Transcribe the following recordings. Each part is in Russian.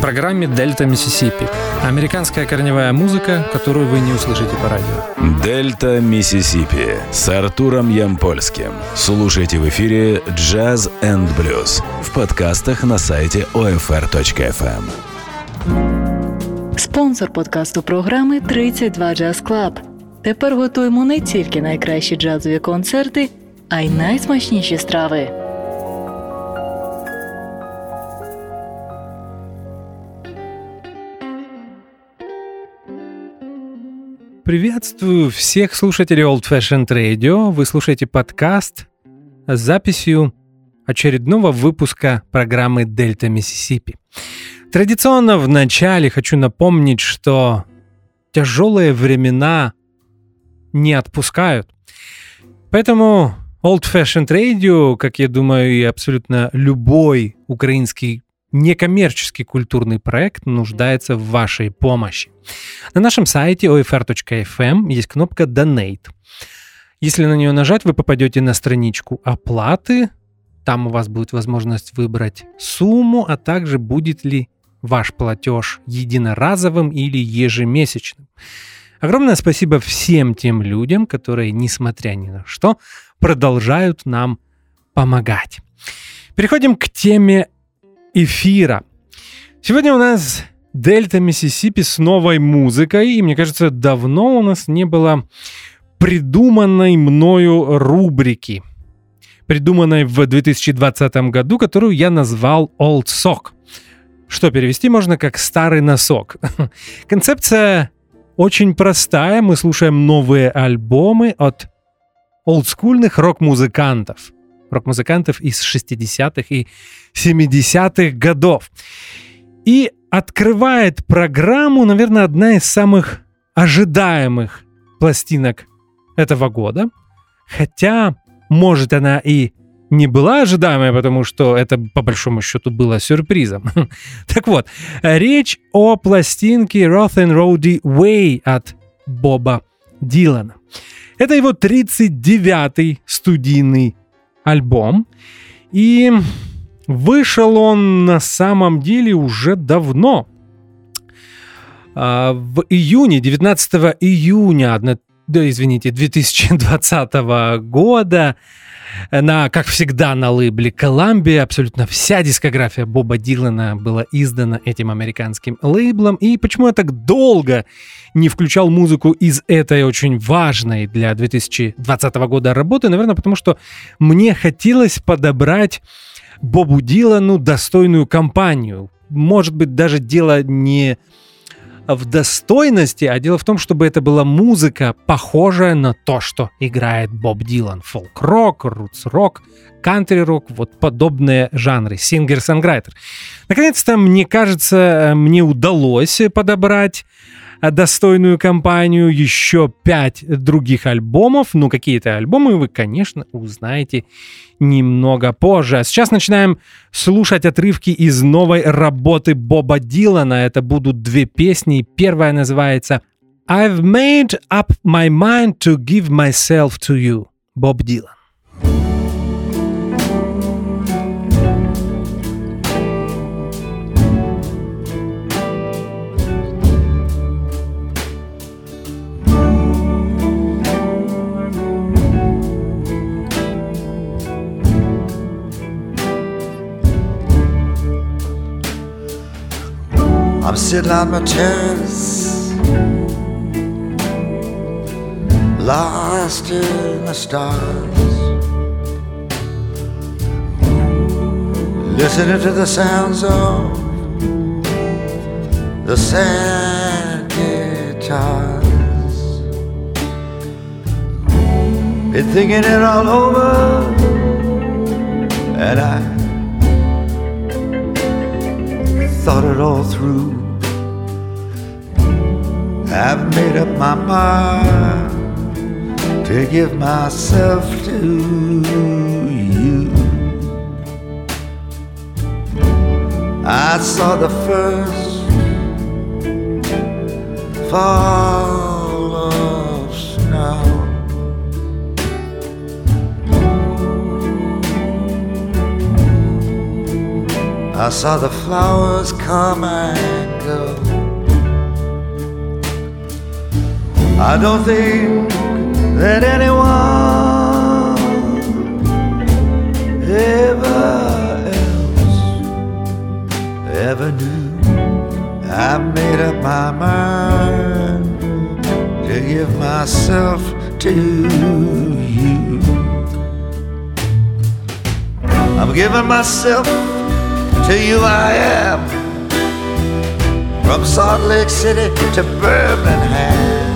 программе «Дельта Миссисипи». Американская корневая музыка, которую вы не услышите по радио. «Дельта Миссисипи» с Артуром Ямпольским. Слушайте в эфире «Джаз энд блюз» в подкастах на сайте OFR.FM. Спонсор подкасту програми «32 Jazz Club». Тепер готуємо не тільки найкращі джазові концерти, а й найсмачніші страви. Приветствую всех слушателей Old Fashioned Radio. Вы слушаете подкаст с записью очередного выпуска программы «Дельта Миссисипи». Традиционно в начале хочу напомнить, что тяжелые времена не отпускают. Поэтому Old Fashioned Radio, как я думаю, и абсолютно любой украинский некоммерческий культурный проект нуждается в вашей помощи. На нашем сайте OFR.FM есть кнопка «Donate». Если на нее нажать, вы попадете на страничку оплаты. Там у вас будет возможность выбрать сумму, а также будет ли ваш платеж единоразовым или ежемесячным. Огромное спасибо всем тем людям, которые, несмотря ни на что, продолжают нам помогать. Переходим к теме эфира. Сегодня у нас «Дельта Миссисипи» с новой музыкой, и мне кажется, давно у нас не было придуманной мною рубрики, придуманной в 2020 году, которую я назвал «Old Sock», что перевести можно как «старый носок». Концепция очень простая, мы слушаем новые альбомы от олдскульных рок-музыкантов из 60-х и 70-х годов. И открывает программу, наверное, одна из самых ожидаемых пластинок этого года. Хотя, может, она и не была ожидаемой, потому что это, по большому счету, было сюрпризом. Так вот, речь о пластинке Rough and Rowdy Way от Боба Дилана. Это его 39-й студийный альбом, и вышел он на самом деле уже давно. В июне, 19 июня 2020 года, как всегда, на лейбле Columbia абсолютно вся дискография Боба Дилана была издана этим американским лейблом. И почему я так долго не включал музыку из этой очень важной для 2020 года работы? Наверное, потому что мне хотелось подобрать Бобу Дилану достойную компанию. Может быть, даже дело не в достойности, а дело в том, чтобы это была музыка, похожая на то, что играет Боб Дилан. Фолк-рок, рутс-рок, кантри-рок, вот подобные жанры, сингер-сонграйтер. Наконец-то, мне кажется, мне удалось подобрать достойную компанию, еще 5 других альбомов. Ну, какие-то альбомы вы, конечно, узнаете немного позже. А сейчас начинаем слушать отрывки из новой работы Боба Дилана. Это будут 2 песни. Первая называется «I've made up my mind to give myself to you». Боб Дилан. I'm sitting on my terrace, lost in the stars, listening to the sounds of the sad guitars. Been thinking it all over, and I thought it all through. I've made up my mind to give myself to you. I saw the first fall of snow. I saw the flowers come and go. I don't think that anyone ever knew. I made up my mind to give myself to you. I'm giving myself to you, I am. From Salt Lake City to Birmingham,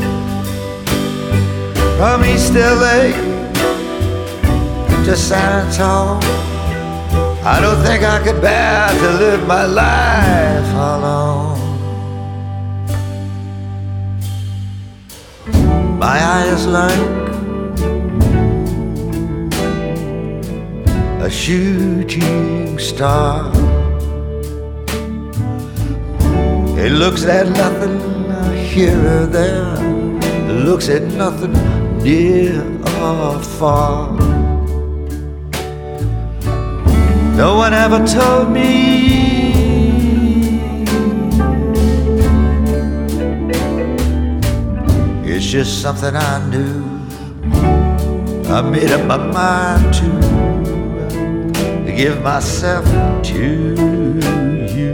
from East LA to San Antonio. I don't think I could bear to live my life alone. My eyes like a shooting star. It looks at nothing here or there. It looks at nothing near or far. No one ever told me it's just something I knew. I made up my mind to give myself to you.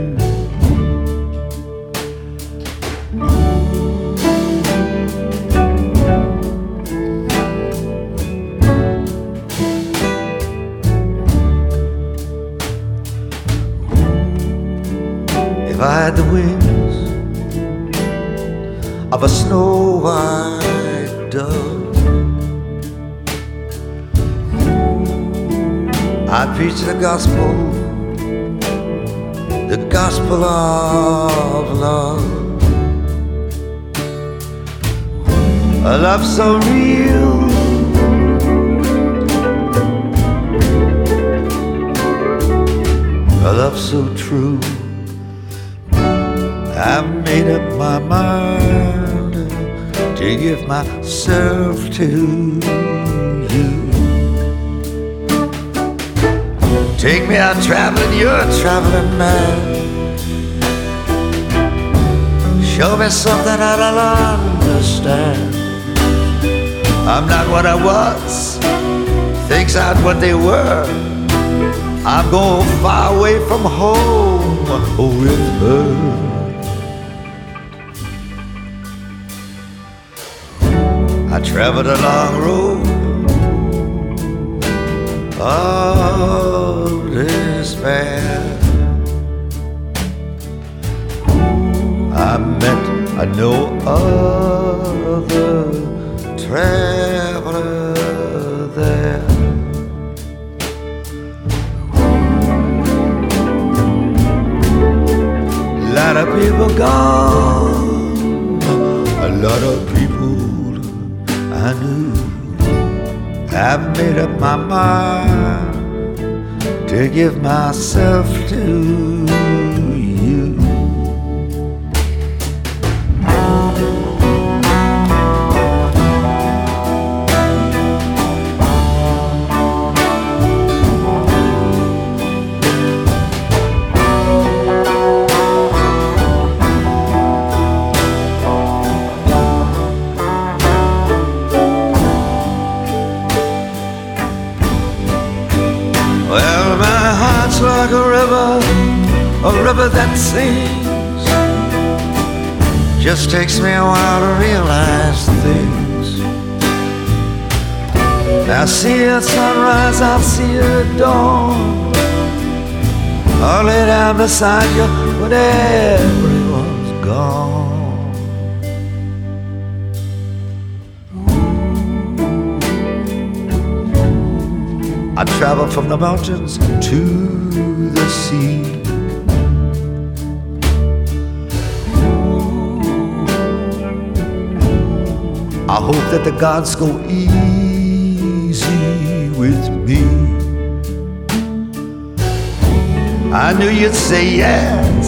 If I had the wings of a snow white dove, I'd preach the gospel of love. A love so real, a love so true. I've made up my mind to give myself to you. Take me out traveling, you're a traveling man. Show me something that I'll understand. I'm not what I was, things aren't what they were. I'm going far away from home with her. I traveled a long road of despair. I met no other traveler there. A lot of people gone, a lot of people I knew. I've made up my mind to give myself to you. Like a river that sings. Just takes me a while to realize things. I'll see it at sunrise, I'll see it at dawn. I'll lay down beside you when everyone's gone. I travel from the mountains to the sea. I hope that the gods go easy with me. I knew you'd say yes.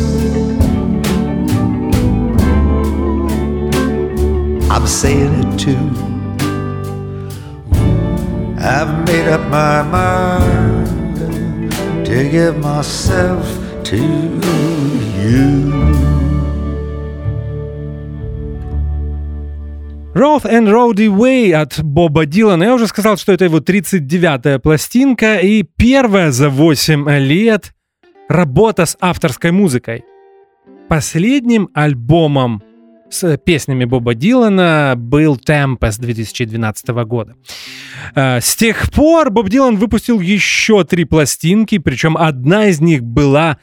I'm saying it too. I've made up my mind to give myself to you. Rough and Rowdy Way от Боба Дилана. Я уже сказал, что это его 39-я пластинка и первая за 8 лет работа с авторской музыкой. Последним альбомом с песнями Боба Дилана был Tempest 2012 года. С тех пор Боб Дилан выпустил еще 3 пластинки, причем одна из них была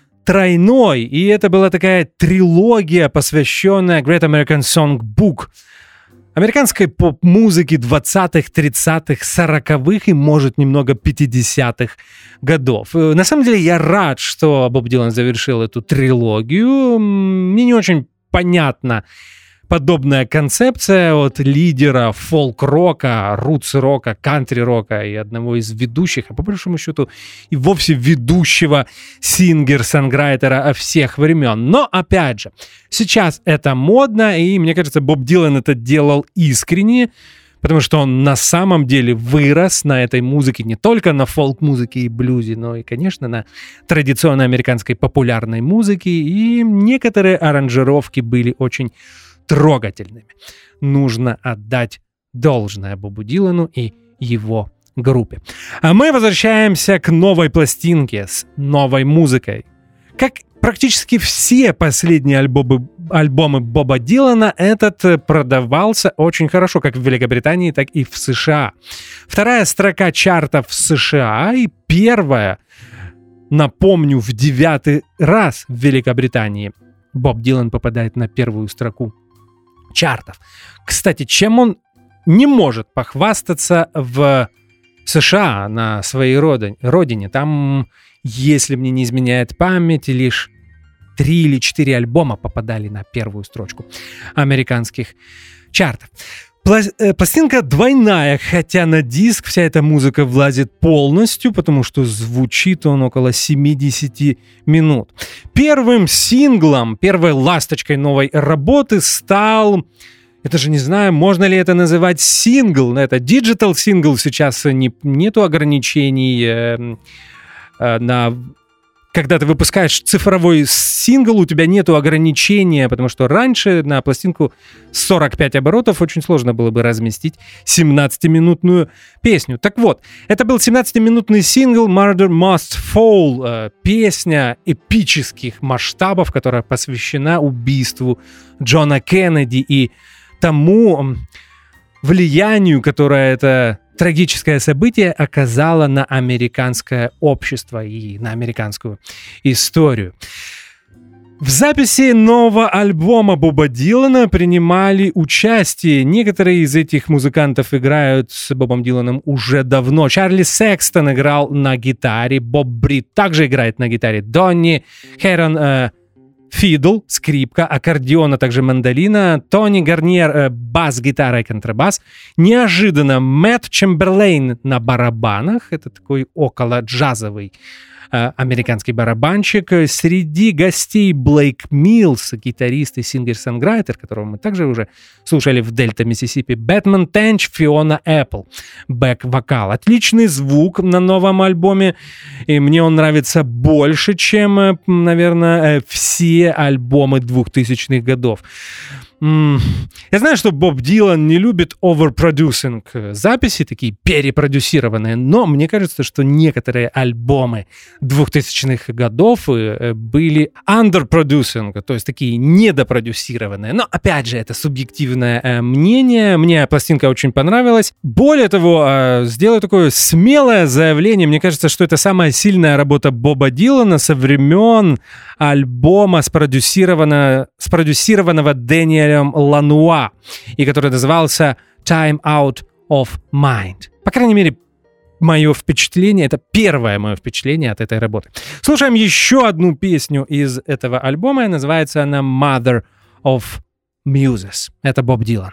тройной, и это была такая трилогия, посвященная Great American Songbook, американской поп-музыки 20-х, 30-х, 40-х и, может, немного 50-х годов. На самом деле, я рад, что Боб Дилан завершил эту трилогию. Мне не очень понятна подобная концепция от лидера фолк-рока, рутс-рока, кантри-рока и одного из ведущих, а по большому счету и вовсе ведущего сингер-сонграйтера всех времен. Но, опять же, сейчас это модно, и, мне кажется, Боб Дилан это делал искренне, потому что он на самом деле вырос на этой музыке, не только на фолк-музыке и блюзе, но и, конечно, на традиционной американской популярной музыке, и некоторые аранжировки были очень трогательными. Нужно отдать должное Бобу Дилану и его группе. А мы возвращаемся к новой пластинке с новой музыкой. Как практически все последние альбомы Боба Дилана, этот продавался очень хорошо, как в Великобритании, так и в США. Вторая строка чартов в США и первая, напомню, в 9-й раз в Великобритании Боб Дилан попадает на первую строку чартов. Кстати, чем он не может похвастаться в США, на своей родине. Там, если мне не изменяет память, лишь 3 или 4 альбома попадали на первую строчку американских чартов. Пластинка двойная, хотя на диск вся эта музыка влазит полностью, потому что звучит он около 70 минут. Первым синглом, первой ласточкой новой работы стал... Это же не знаю, можно ли это называть сингл. Это диджитал сингл, сейчас нету ограничений на... Когда ты выпускаешь цифровой сингл, у тебя нету ограничения, потому что раньше на пластинку 45 оборотов очень сложно было бы разместить 17-минутную песню. Так вот, это был 17-минутный сингл «Murder Must Fall», песня эпических масштабов, которая посвящена убийству Джона Кеннеди и тому влиянию, которое это трагическое событие оказало на американское общество и на американскую историю. В записи нового альбома Боба Дилана принимали участие. Некоторые из этих музыкантов играют с Бобом Диланом уже давно. Чарли Секстон играл на гитаре, Боб Брит также играет на гитаре, Донни Хэрон фидл, скрипка, аккордеон, а также мандолина, Тони Гарниер, бас-гитара и контрабас. Неожиданно Мэтт Чемберлейн на барабанах, это такой около джазовый американский барабанщик. Среди гостей Блейк Миллс, гитарист и сингер-сонграйтер, которого мы также уже слушали в Дельта, Миссисипи, Бэтмен Тенч, Фиона Эппл, бэк-вокал. Отличный звук на новом альбоме, и мне он нравится больше, чем, наверное, все альбомы 2000-х годов. Я знаю, что Боб Дилан не любит оверпродюсинг записи, такие перепродюсированные, но мне кажется, что некоторые альбомы 2000-х годов были underproducing, то есть такие недопродюсированные. Но, опять же, это субъективное мнение. Мне пластинка очень понравилась. Более того, сделаю такое смелое заявление. Мне кажется, что это самая сильная работа Боба Дилана со времен альбома, спродюсированного Дэниелем Лануа, и который назывался «Time Out of Mind». По крайней мере, мое впечатление, это первое мое впечатление от этой работы. Слушаем еще одну песню из этого альбома, и называется она «Mother of Muses». Это Боб Дилан.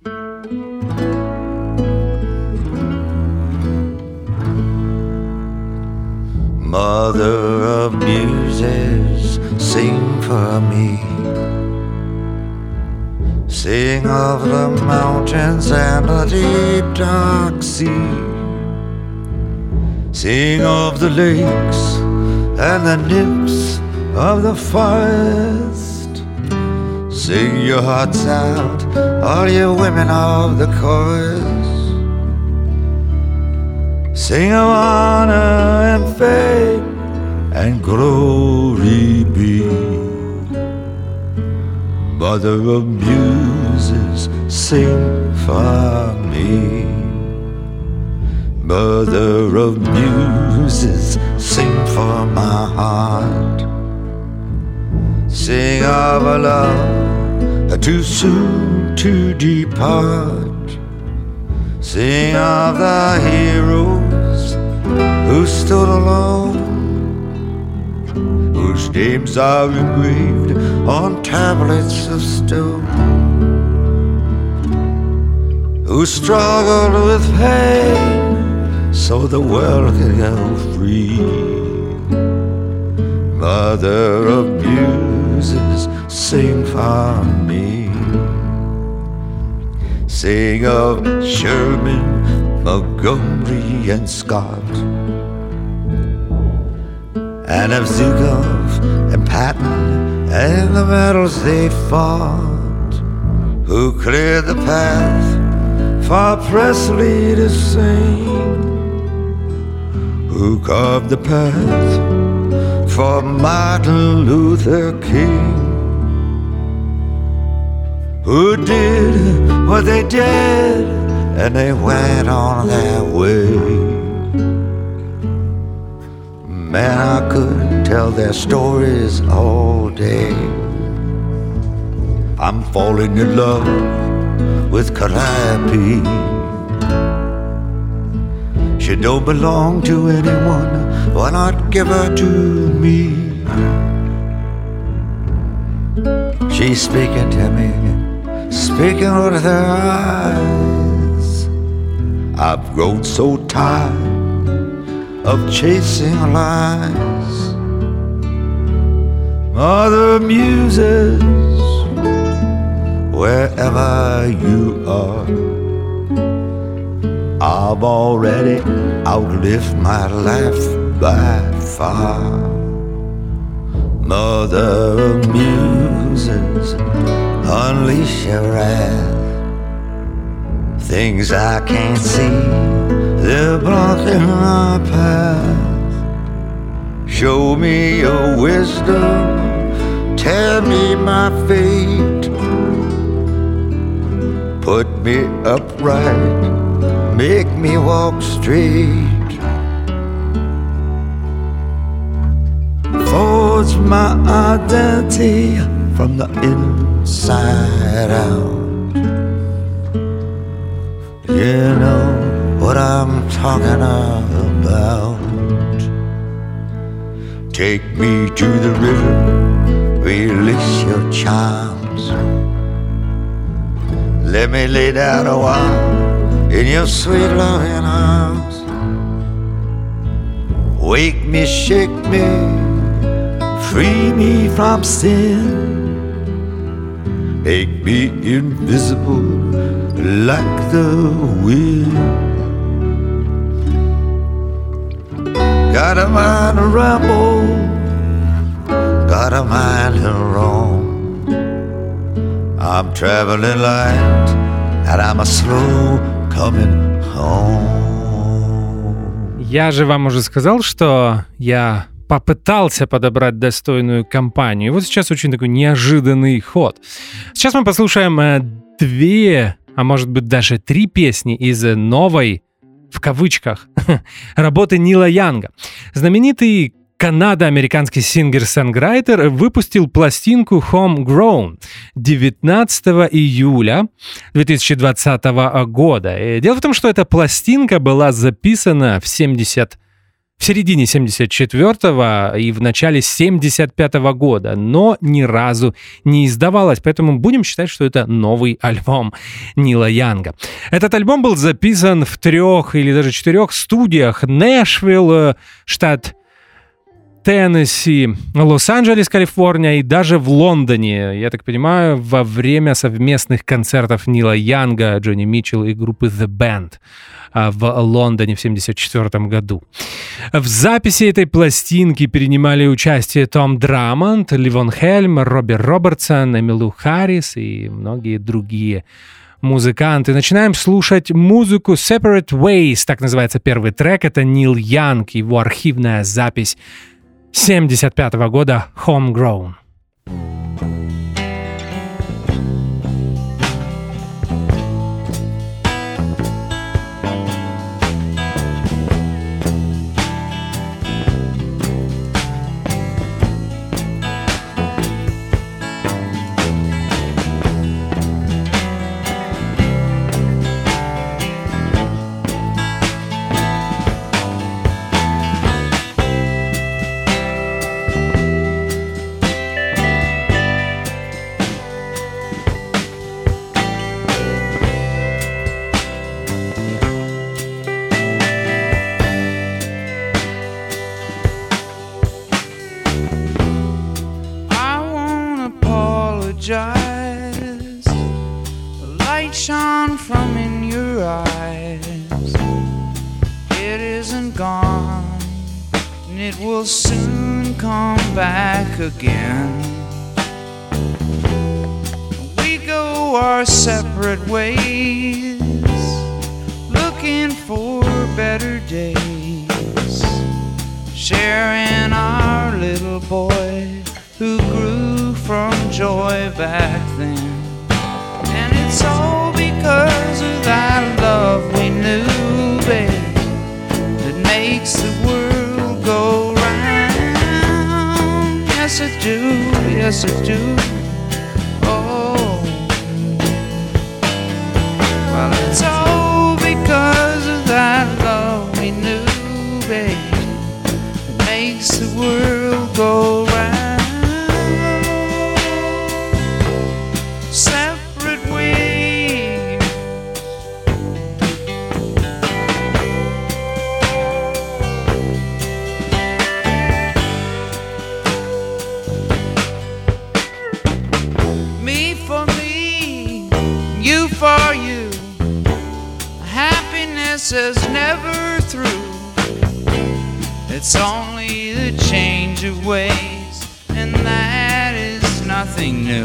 Mother of muses, sing for me. Sing of the mountains and the deep dark sea. Sing of the lakes and the nymphs of the forest. Sing your hearts out, all you women of the chorus. Sing of honor and fame and glory be. Mother of muses, sing for me. Mother of muses, sing for my heart. Sing of a love too soon to depart. Sing of the heroes who stood alone, whose names are engraved on tablets of stone, who struggled with pain so the world could go free. Mother of muses, sing for me. Sing of Sherman, Montgomery, and Scott, and of Zukov and Patton and the battles they fought, who cleared the path for Presley to sing, who carved the path for Martin Luther King, who did what they did and they went on their way. Man, I could tell their stories all day. I'm falling in love with Calliope. She don't belong to anyone, why not give her to me? She's speaking to me, speaking with her eyes. I've grown so tired of chasing lies. Mother of muses, wherever you are, I've already outlived my life by far. Mother of muses, unleash your wrath. Things I can't see, they're blocking my path. Show me your wisdom, tell me my fate. Put me upright, make me walk straight. Forge my identity from the inside out. You know what I'm talking about. Take me to the river, release your charms. Let me lay down a while in your sweet loving arms. Wake me, shake me, free me from sin. Make me invisible like the wind. Got a mind to ramble, got a mind to roam. I'm traveling light and I'm a slow coming home. Я же вам уже сказал, что я попытался подобрать достойную компанию. И вот сейчас очень такой неожиданный ход. Сейчас мы послушаем 2, а может быть даже 3 песни из новой, в кавычках, работы Нила Янга. Знаменитый канадо-американский сингер-сонграйтер выпустил пластинку Homegrown 19 июля 2020 года. И дело в том, что эта пластинка была записана в середине 74-го и в начале 75-го года, но ни разу не издавалась, поэтому будем считать, что это новый альбом Нила Янга. Этот альбом был записан в 3 или даже 4 студиях: Нэшвилл, штат Теннесси, Лос-Анджелес, Калифорния и даже в Лондоне, я так понимаю, во время совместных концертов Нила Янга, Джонни Митчелла и группы The Band в Лондоне в 1974 году. В записи этой пластинки принимали участие Том Драмонд, Ливон Хельм, Робби Робертсон, Эмилу Харрис и многие другие музыканты. Начинаем слушать музыку Separate Ways, так называется первый трек. Это Нил Янг, его архивная запись 1975 года Homegrown. Again, we go our separate ways, looking for better days, sharing our little boy who grew from joy back then. And it's all because of that love we knew, babe, that makes the world go round. Yes, I do, yes, I do. Oh, well, it's all because of that love we knew, babe, that makes the world go round. Separate ways. For you, happiness is never through. It's only the change of ways, and that is nothing new.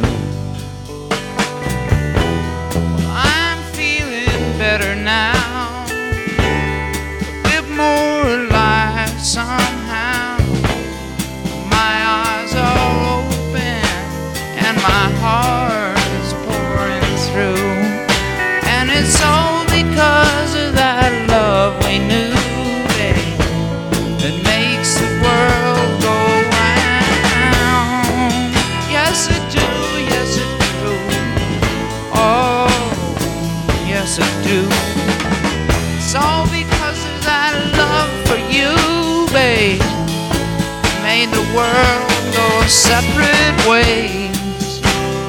I'm feeling better now, a bit more alive somehow. My eyes are open and my heart is pouring through. It's all because of that love we knew, babe, that makes the world go round. Yes, I do, yes, I do. Oh, yes, I do. It's all because of that love for you, babe, made the world go separate ways,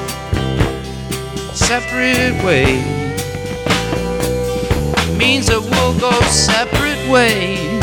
separate ways. Means that we'll go separate ways.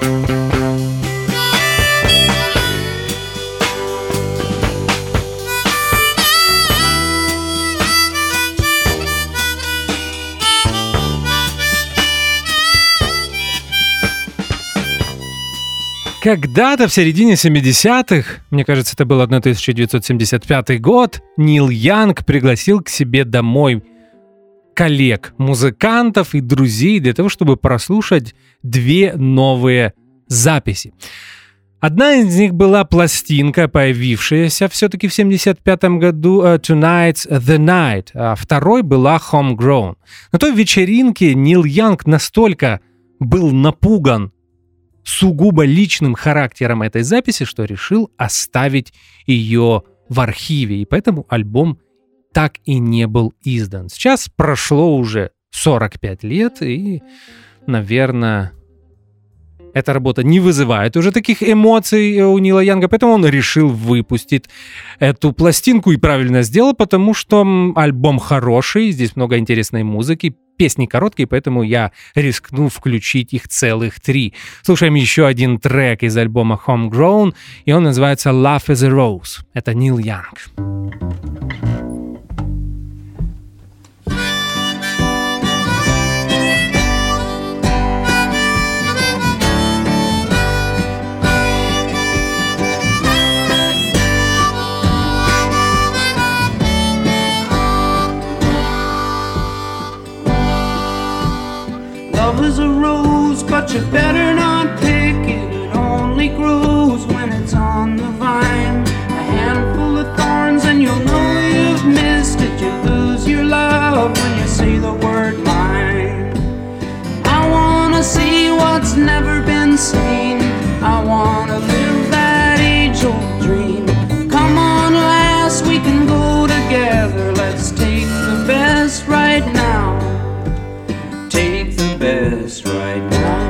Когда-то в середине 70-х, мне кажется, это был 1975 год, Нил Янг пригласил к себе домой коллег, музыкантов и друзей для того, чтобы прослушать две новые записи. Одна из них была пластинка, появившаяся все-таки в 1975 году, Tonight's the Night, а второй была Homegrown. На той вечеринке Нил Янг настолько был напуган сугубо личным характером этой записи, что решил оставить ее в архиве, и поэтому альбом так и не был издан. Сейчас прошло уже 45 лет, и, наверное, эта работа не вызывает уже таких эмоций у Нила Янга, поэтому он решил выпустить эту пластинку и правильно сделал, потому что альбом хороший, здесь много интересной музыки, песни короткие, поэтому я рискну включить их целых 3. Слушаем еще один трек из альбома Homegrown, и он называется Love is a Rose. Это Нил Янг. Love is a rose, but you better not pick it. It only grows when it's on the vine. A handful of thorns and you'll know you've missed it. You lose your love when you say the word mine. I wanna see what's never been seen. I wanna live that age-old dream. Come on, lass, we can go together. Let's take the best right now. Take the best right now.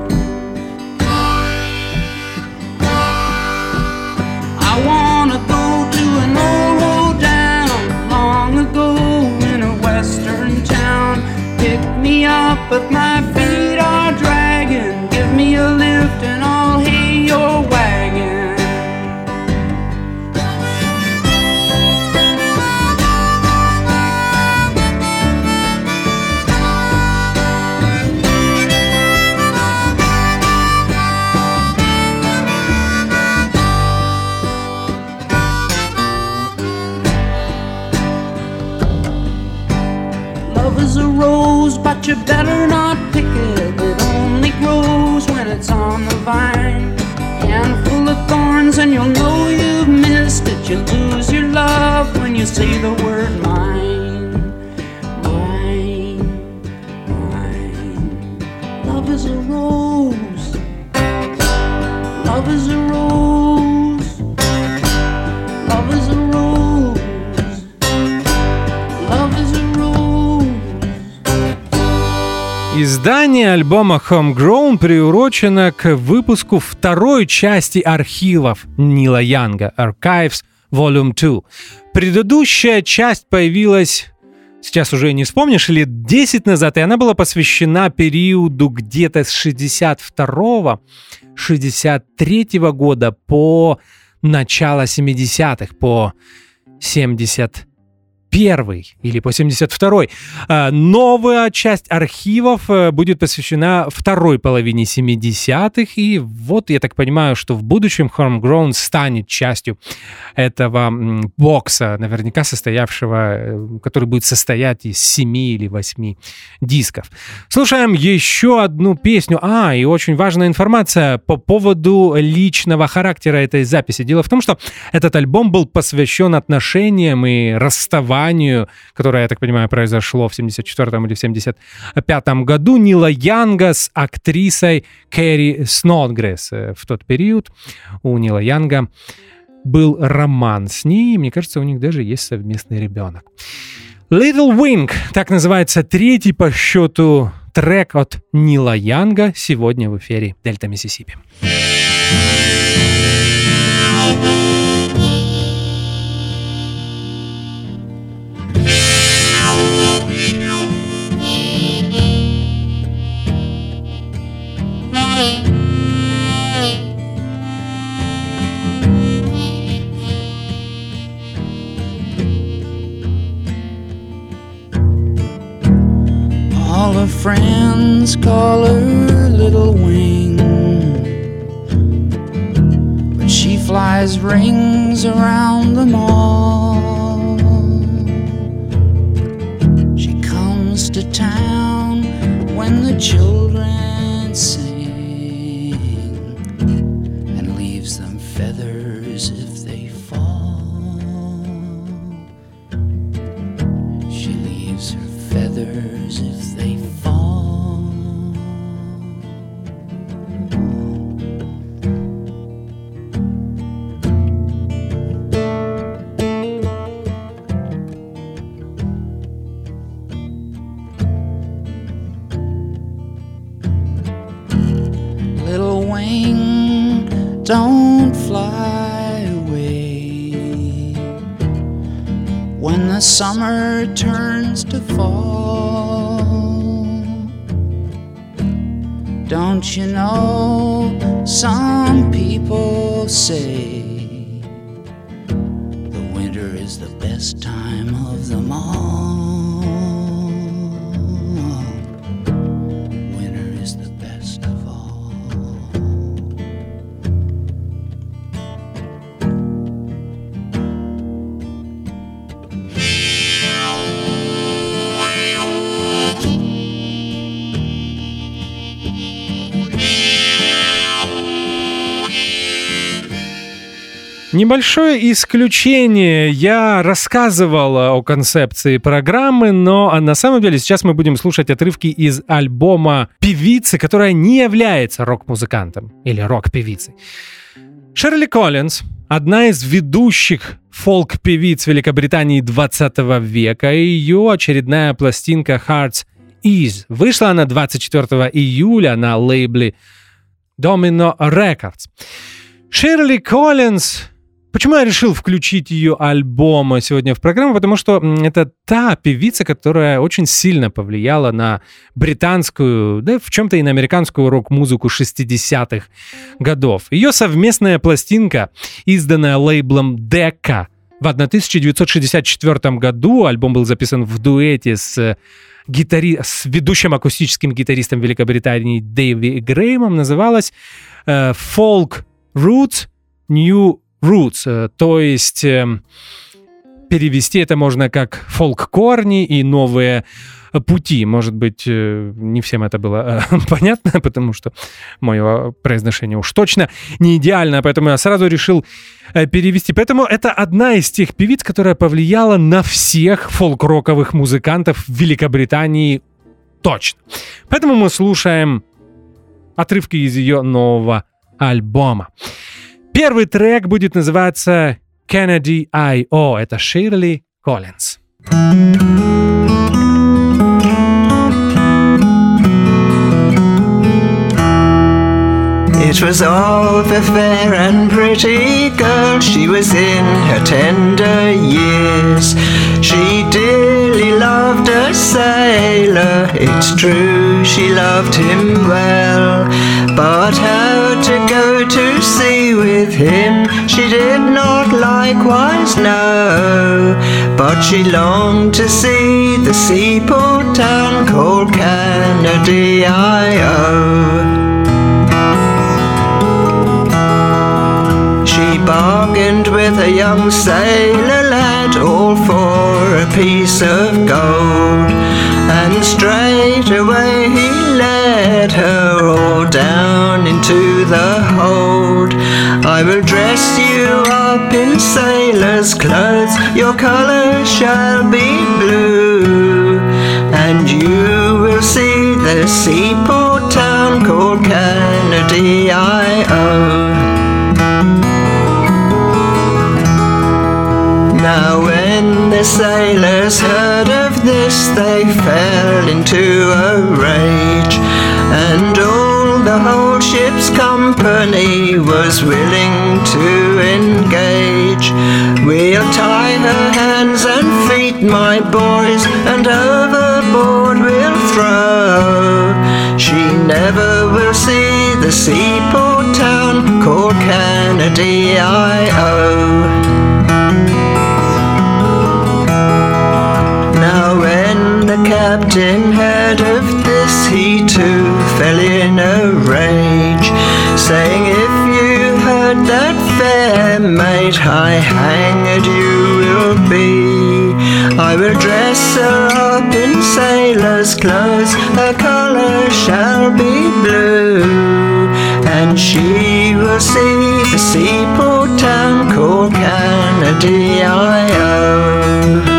I wanna go to an old hoedown long ago in a western town. Pick me up if my feet are dragging. Give me a lift and I'll hay your wagon. Love is a rose, but you better not pick it. It only grows when it's on the vine. Handful of thorns and you'll know you've missed it. You lose your love when you say the word mine. Mine, mine. Love is a rose. Love is a rose. Love is a rose. Love is a rose. Издание альбома Homegrown приурочено к выпуску второй части архивов Нила Янга Archives Volume 2. Предыдущая часть появилась, сейчас уже не вспомнишь, лет 10 назад, и она была посвящена периоду где-то с 62-63 года по начало 70-х, по 71 или по 72-й. Новая часть архивов будет посвящена второй половине 70-х, и вот я так понимаю, что в будущем Homegrown станет частью этого бокса, наверняка состоявшего, который будет состоять из 7 или 8 дисков. Слушаем еще одну песню. И очень важная информация по поводу личного характера этой записи. Дело в том, что этот альбом был посвящен отношениям и расставанию, которое, я так понимаю, произошло в 74-м или в 75-м году Нила Янга с актрисой Кэрри Снодгресс. В тот период у Нила Янга был роман с ней, и, мне кажется, у них даже есть совместный ребенок. Little Wing, так называется третий по счету трек от Нила Янга сегодня в эфире Дельта Миссисипи. All her friends call her Little Wing, but she flies rings around them all. She comes to town when the children sing and leaves them feathers if they fall. She leaves her feathers if they fall. Little wing, don't fly away when the summer turns to fall. Don't you know, some people say the winter is the best time of them all. Winter is the best of all. Небольшое исключение. Я рассказывал о концепции программы, но на самом деле сейчас мы будем слушать отрывки из альбома певицы, которая не является рок-музыкантом или рок-певицей. Ширли Коллинз, одна из ведущих фолк-певиц Великобритании 20 века, и ее очередная пластинка Heart's Ease. Вышла она 24 июля на лейбле Domino Records. Ширли Коллинз... Почему я решил включить ее альбом сегодня в программу? Потому что это та певица, которая очень сильно повлияла на британскую, да в чем-то и на американскую рок-музыку 60-х годов. Ее совместная пластинка, изданная лейблом Decca в 1964 году, альбом был записан в дуэте с ведущим акустическим гитаристом Великобритании Дэви Греймом, называлась «Folk Roots, New Roots», то есть перевести это можно как «фолк-корни» и «новые пути». Может быть, не всем это было понятно, потому что мое произношение уж точно не идеально, поэтому я сразу решил перевести. Поэтому это одна из тех певиц, которая повлияла на всех фолк-роковых музыкантов в Великобритании точно. Поэтому мы слушаем отрывки из ее нового альбома. Первый трек будет называться Kennedy I.O. Это Ширли Коллинз. It was of a fair and pretty girl. She was in her tender years. She dearly loved a sailor. It's true, she loved him well. But how to go to sea with him she did not likewise know. But she longed to see the seaport town called Kennedy I.O. She bargained with a young sailor lad, all for a piece of gold, and straight away he led her all down into the hold. I will dress you up in sailor's clothes, your colour shall be blue, and you will see the seaport town called Kennedy I.O. Now when the sailors heard of this, they fell into a rage, and all the whole ship's company was willing to engage. We'll tie her hands and feet, my boys, and overboard we'll throw. She never will see the seaport town called Kennedy I.O. Now when the captain heard of this, he too fell in a rage, saying, if you heard that fair maid, high hanged you will be. I will dress her up in sailor's clothes, her colour shall be blue, and she will see the seaport town called Kennedy I.O.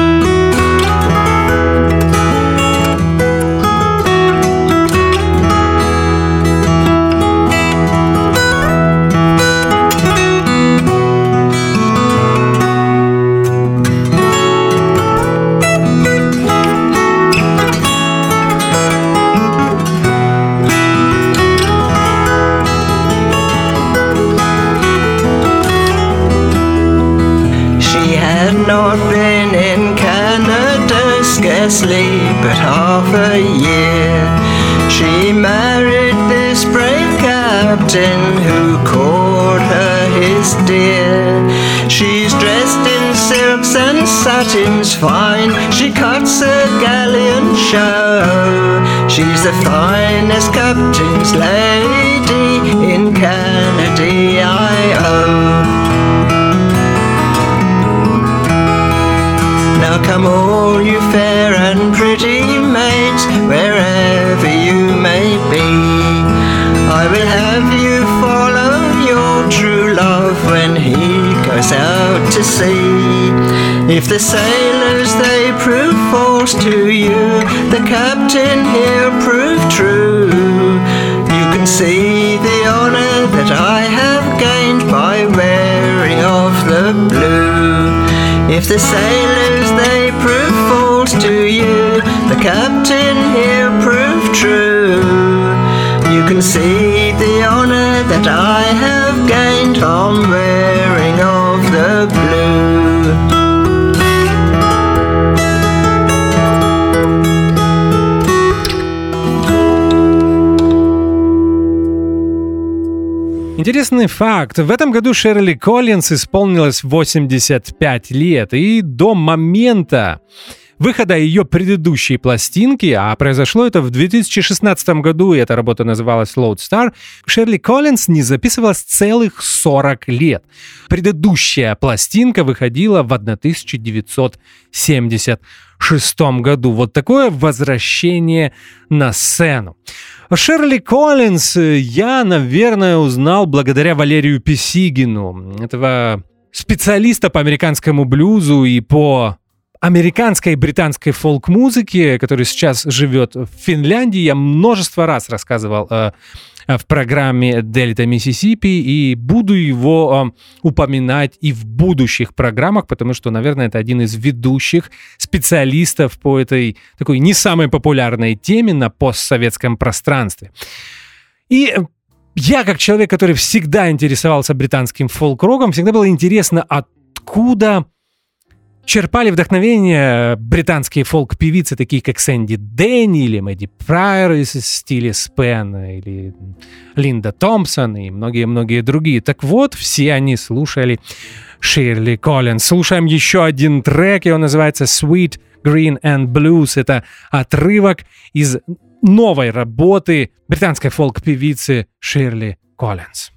Not been in Canada scarcely but half a year. She married this brave captain who called her his dear. She's dressed in silks and satins fine. She cuts a galleon show. She's the finest captain's lady in Canada, Now come all you fair and pretty maids, wherever you may be. I will have you follow your true love when he goes out to sea. If the sailors they prove false to you, the captain he'll prove true. You can see the honour that I have gained by wearing of the blue. If the sailors they prove false to you, the captain he'll prove true. You can see the honour that I have gained from wearing of the blue. Интересный факт. В этом году Шерли Коллинз исполнилось 85 лет, и до момента выхода ее предыдущей пластинки, а произошло это в 2016 году, и эта работа называлась Lodestar, Шерли Коллинз не записывалась целых 40 лет. Предыдущая пластинка выходила в 1976 году. Вот такое возвращение на сцену. Шерли Коллинз я, наверное, узнал благодаря Валерию Писигину, этого специалиста по американскому блюзу и по американской и британской фолк-музыке, который сейчас живет в Финляндии. Я множество раз рассказывал в программе «Дельта Миссисипи», и буду его упоминать и в будущих программах, потому что, наверное, это один из ведущих специалистов по этой такой не самой популярной теме на постсоветском пространстве. И я, как человек, который всегда интересовался британским фолк-роком, всегда было интересно, откуда черпали вдохновение британские фолк-певицы, такие как Сэнди Дэнни или Мэдди Прайер из стиля Спен, или Линда Томпсон и многие-многие другие. Так вот, все они слушали Шерли Коллинз. Слушаем еще один трек, его называется Sweet Green and Blues. Это отрывок из новой работы британской фолк-певицы Шерли Коллинз.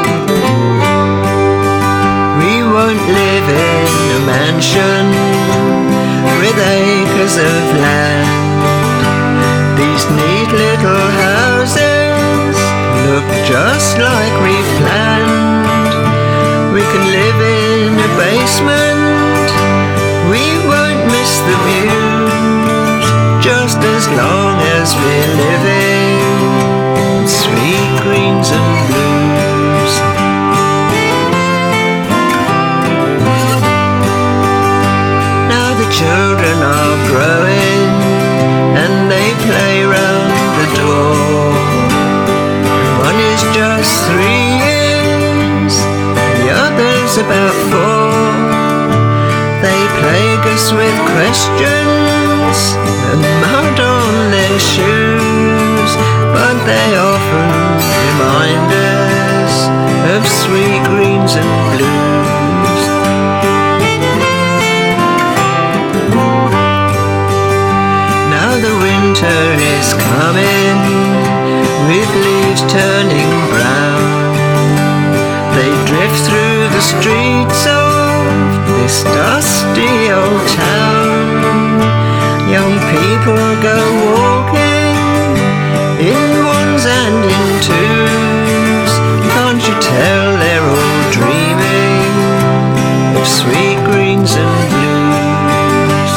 Live in a mansion acres of land. These neat little houses look just like we've planned. We can live in a basement, we won't miss the views, just as long as we're living in sweet greens and blues. Now the children are growing and they play round the door. One is just 3 years, the other's about 4. They plague us with questions and mud on their shoes, but they often remind us of sweet greens and blues. Now the winter is coming, with leaves turning brown. They drift through the streets of this dusty old town. Young people go walking in ones and in twos. Can't you tell they're all dreaming of sweet greens and blues?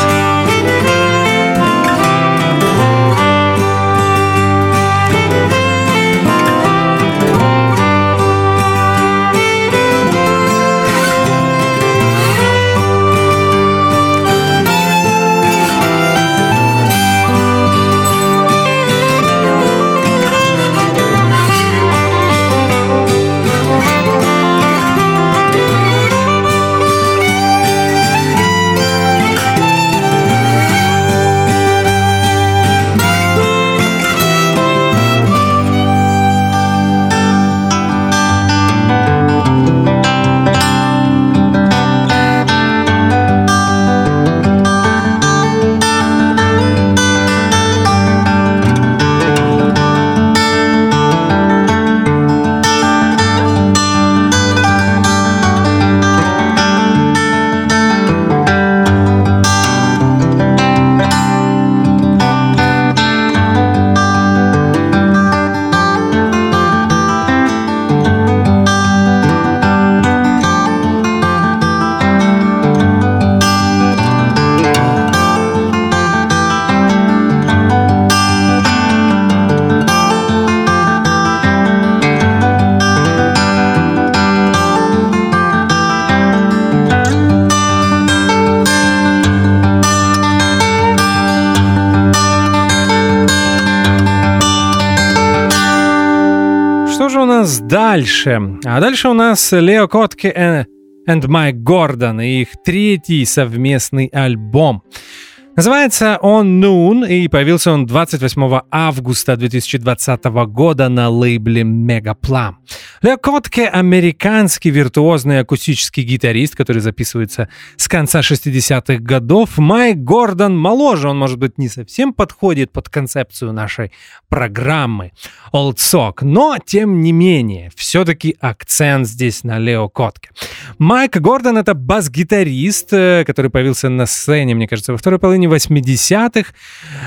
Дальше. А дальше у нас Лео Котке and Майк Гордон и их 3-й совместный альбом. Называется он «Noon», и появился он 28 августа 2020 года на лейбле Megaplum. Лео Котке — американский виртуозный акустический гитарист, который записывается с конца 60-х годов. Майк Гордон моложе, он, может быть, не совсем подходит под концепцию нашей программы Old Sock, но, тем не менее, все-таки акцент здесь на Лео Котке. Майк Гордон — это бас-гитарист, который появился на сцене, мне кажется, во второй половине 80-х,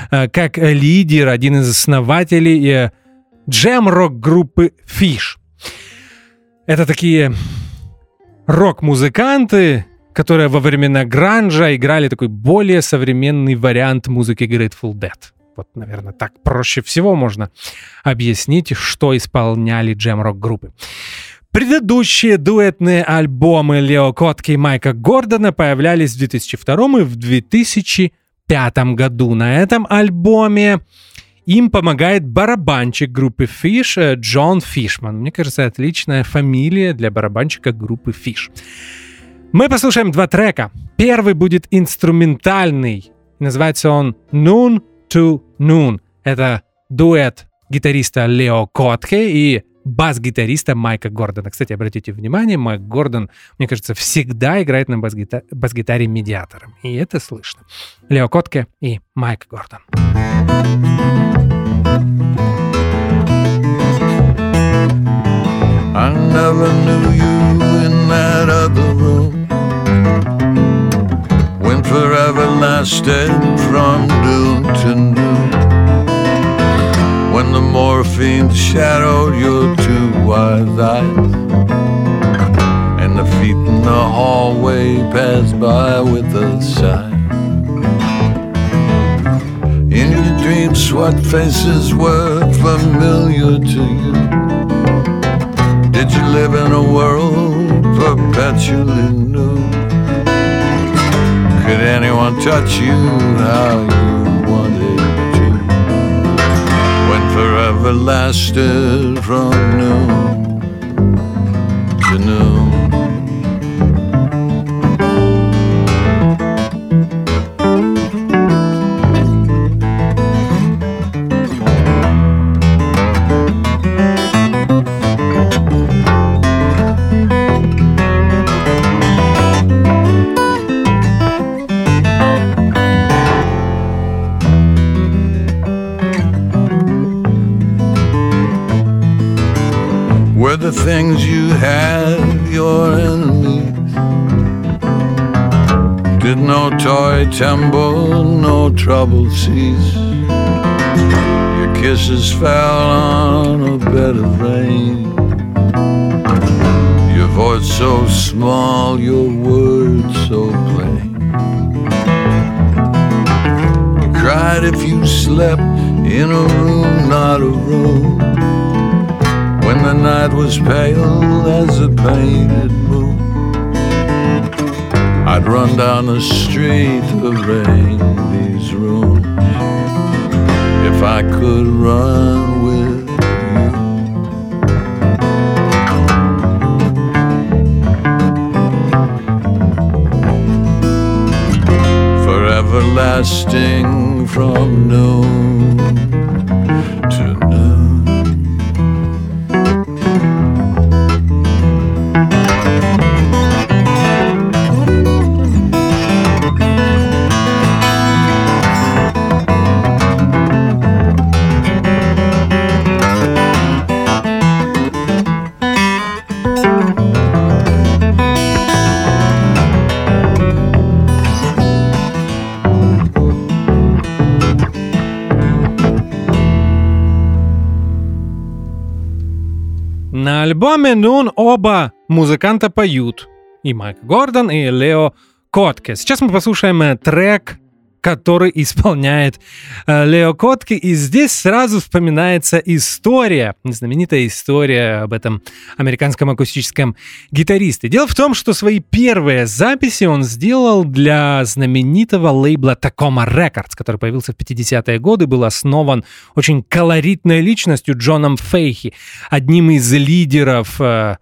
как лидер, один из основателей джем-рок-группы Fish. Это такие рок-музыканты, которые во времена гранжа играли такой более современный вариант музыки Grateful Dead. Вот, наверное, так проще всего можно объяснить, что исполняли джем-рок-группы. Предыдущие дуэтные альбомы Лео Котке и Майка Гордона появлялись в 2002 и в 2005 году. На этом альбоме им помогает барабанщик группы Fish Джон Фишман. Мне кажется, отличная фамилия для барабанщика группы Fish. Мы послушаем 2 трека. Первый будет инструментальный. Называется он «Noon to Noon». Это дуэт гитариста Лео Котке и бас-гитариста Майка Гордона. Кстати, обратите внимание, Майк Гордон, мне кажется, всегда играет на бас-гитаре медиатором. И это слышно. Лео Котке и Майк Гордон. I never knew you in that other room when forever lasted from fiend shadowed your two wise eyes, and the feet in the hallway passed by with a sigh. In your dreams, what faces were familiar to you? Did you live in a world perpetually new? Could anyone touch you how you wanted to? When forever lasted from noon to noon. The things you had, your enemies, did no toy tumble, no trouble cease. Your kisses fell on a bed of rain, your voice so small, your words so plain. You cried if you slept in a room, not a room, when the night was pale as a painted moon. I'd run down the street to rain these rooms if I could run with you. Forever lasting from noon to noon. На альбоме «Noon» оба музыканта поют. И Майк Гордон, и Лео Котке. Сейчас мы послушаем трек, который исполняет Лео Котке. И здесь сразу вспоминается история, знаменитая история об этом американском акустическом гитаристе. Дело в том, что свои первые записи он сделал для знаменитого лейбла Tacoma Records, который появился в 50-е годы, был основан очень колоритной личностью Джоном Фейхи, одним из лидеров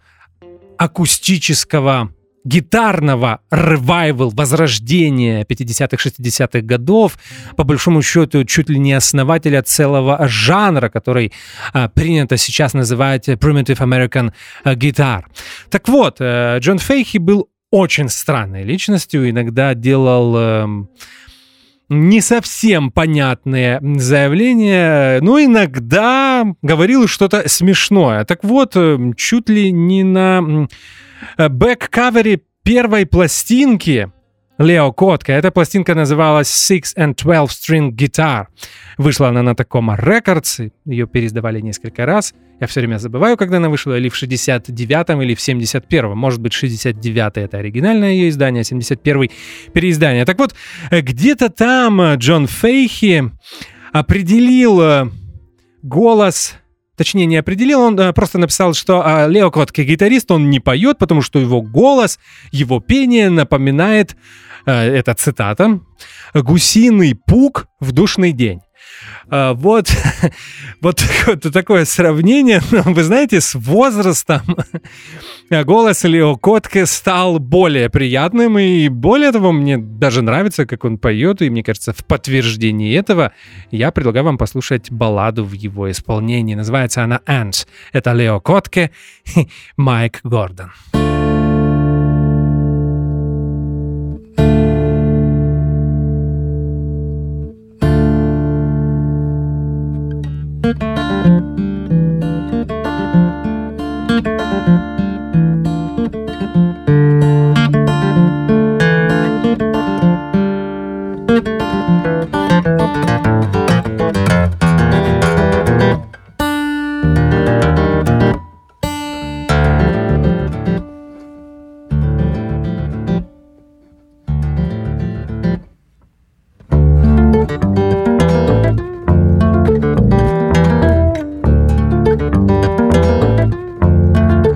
акустического гитарного ревайвал, возрождения 50-х, 60-х годов, по большому счету, чуть ли не основателя целого жанра, который принято сейчас называть Primitive American Guitar. Так вот, Джон Фейхи был очень странной личностью, иногда делал не совсем понятные заявления, но иногда говорил что-то смешное. Так вот, чуть ли не на бэк-кавере первой пластинки Лео Котке, эта пластинка называлась Six and 12 String Guitar. Вышла она на Tacoma Records, ее переиздавали несколько раз. Я все время забываю, когда она вышла, или в 69-м, или в 71-м. Может быть, 69-й это оригинальное ее издание, а 71-й переиздание. Так вот, где-то там Джон Фейхи определил голос... Точнее, не определил, он просто написал, что Лео Котке гитарист, он не поет, потому что его голос, его пение напоминает, это цитата, «гусиный пук в душный день». Вот такое сравнение, но вы знаете, с возрастом голос Лео Котке стал более приятным, и более того, мне даже нравится, как он поет, и мне кажется, в подтверждении этого я предлагаю вам послушать балладу в его исполнении. Называется она «Ants». Это Лео Котке и Майк Гордон.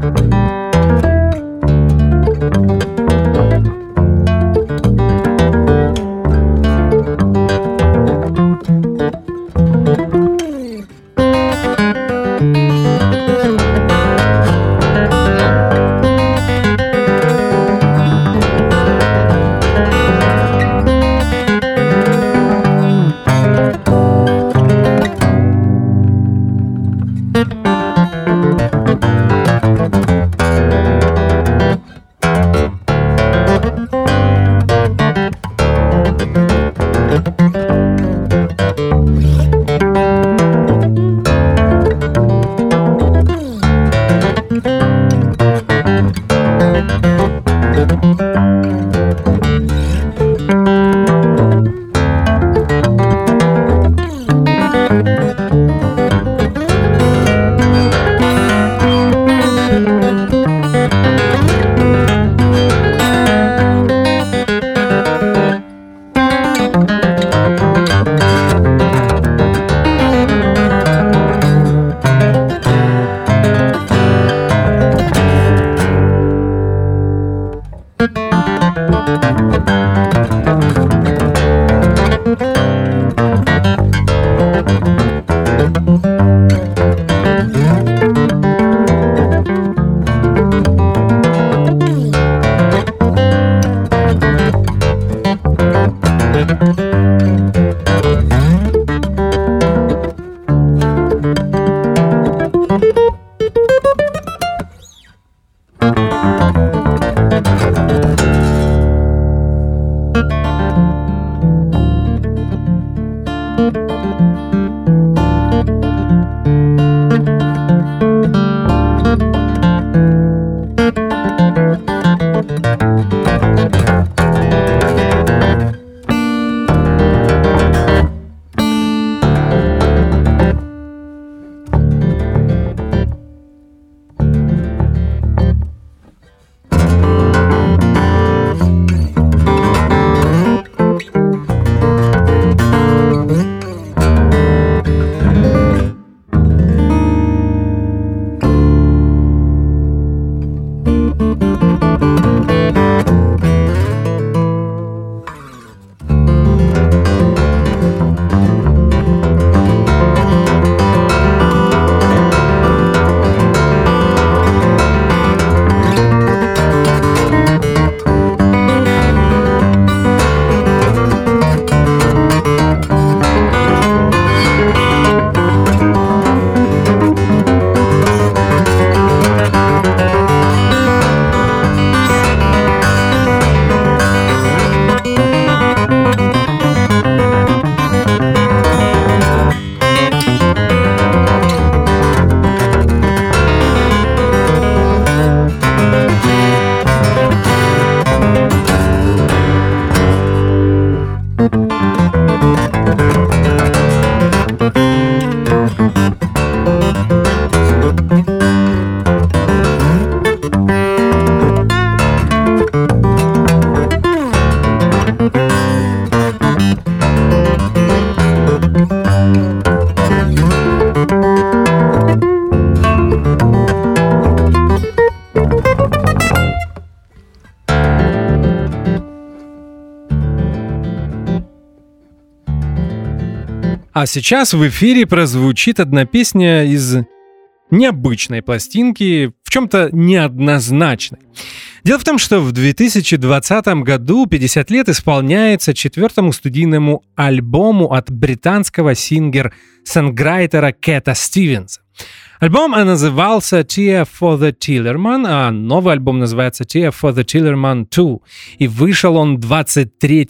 А сейчас в эфире прозвучит одна песня из необычной пластинки, в чем-то неоднозначной. Дело в том, что в 2020 году 50 лет исполняется 4-му студийному альбому от британского сингер-сонграйтера Кэта Стивенса. Альбом назывался Tear for the Tillerman, а новый альбом называется Tear for the Tillerman 2. И вышел он 23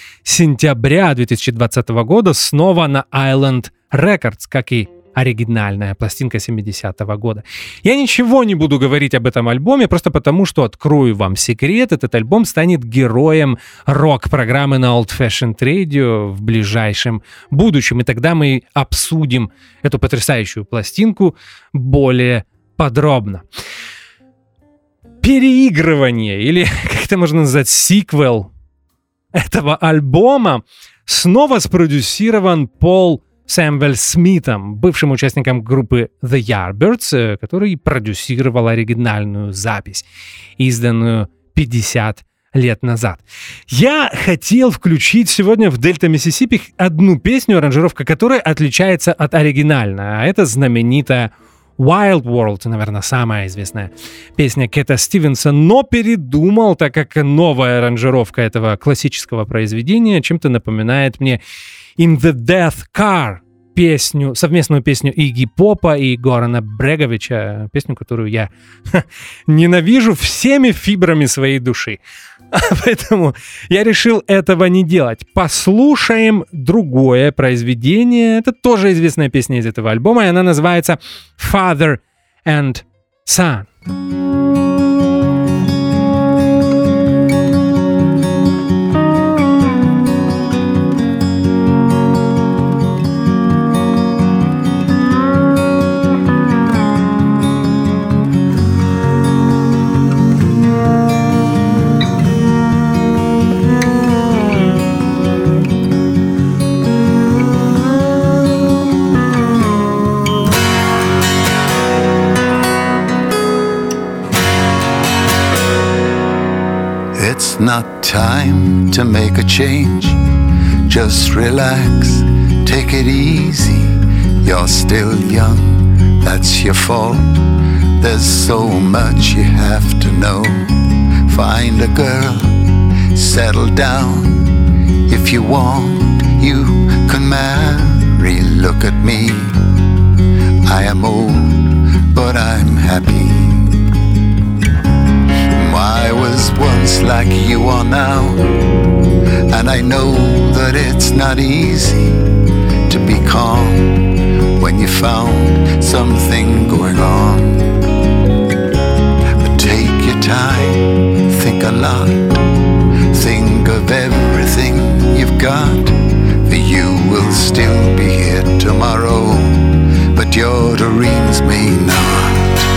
сентября 2020 года снова на Island Records, как и оригинальная пластинка 70-го года. Я ничего не буду говорить об этом альбоме, просто потому, что открою вам секрет. Этот альбом станет героем рок-программы на Old Fashioned Radio в ближайшем будущем. И тогда мы обсудим эту потрясающую пластинку более подробно. Переигрывание, или как это можно назвать, сиквел этого альбома снова спродюсирован Пол Сэмюэл Смитом, бывшим участником группы The Yardbirds, который продюсировал оригинальную запись, изданную 50 лет назад. Я хотел включить сегодня в Дельта Миссисипи одну песню, аранжировка которой отличается от оригинальной, а это знаменитая Wild World, наверное, самая известная песня Кэта Стивенса, но передумал, так как новая аранжировка этого классического произведения чем-то напоминает мне In the Death Car, совместную песню Игги Попа и Горана Бреговича, песню, которую я ненавижу всеми фибрами своей души. Поэтому я решил этого не делать. Послушаем другое произведение. Это тоже известная песня из этого альбома, и она называется Father and Son. Not time to make a change. Just relax, take it easy. You're still young, that's your fault. There's so much you have to know. Find a girl, settle down. If you want, you can marry. Look at me, I am old, but I'm happy. I was once like you are now, and I know that it's not easy to be calm when you found something going on. But take your time, think a lot, think of everything you've got. For you will still be here tomorrow, but your dreams may not.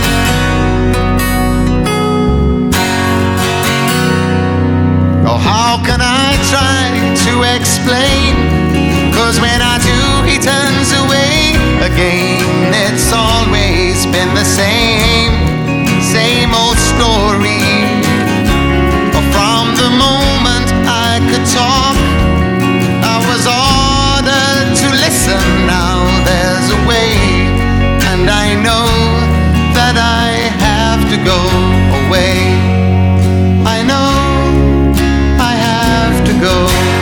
Oh, how can I try to explain? 'Cause when I do, he turns away again. It's always been the same old story. Oh, from the moment I could talk, I was ordered to listen. Now there's a way, and I know that I have to go away. I know go.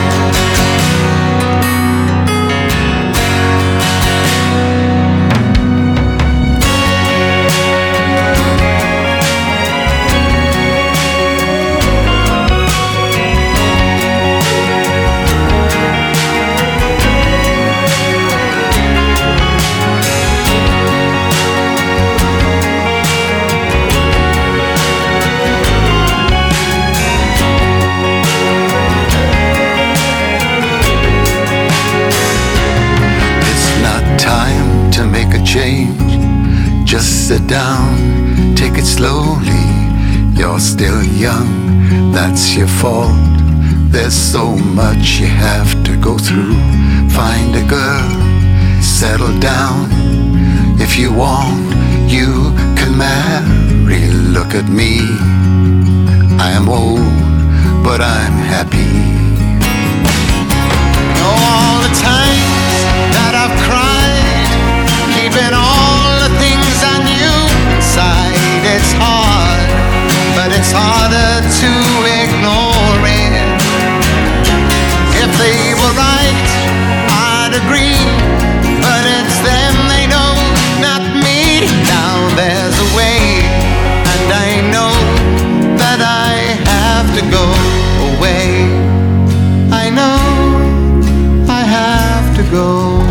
Change, just sit down, take it slowly. You're still young, that's your fault. There's so much you have to go through. Find a girl, settle down. If you want, you can marry. Look at me, I am old, but I'm happy. Oh, all the times that I've cried, keeping all the things I knew inside. It's hard, but it's harder to ignore it. If they were right, I'd agree, but it's them they know, not me. Now there's a way, and I know that I have to go away. I know I have to go.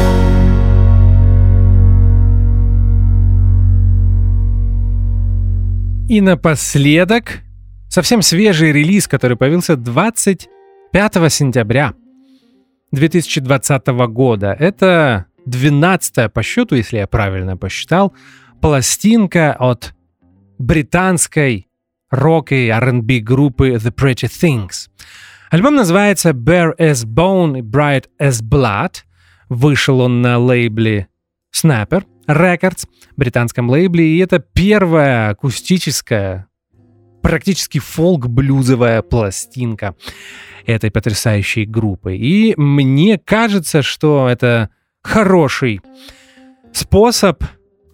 И напоследок, совсем свежий релиз, который появился 25 сентября 2020 года. Это 12-я по счету, если я правильно посчитал, пластинка от британской рок- и R&B группы The Pretty Things. Альбом называется Bare as Bone и Bright as Blood. Вышел он на лейбле Snapper Records, британском лейбле, и это первая акустическая, практически фолк-блюзовая пластинка этой потрясающей группы. И мне кажется, что это хороший способ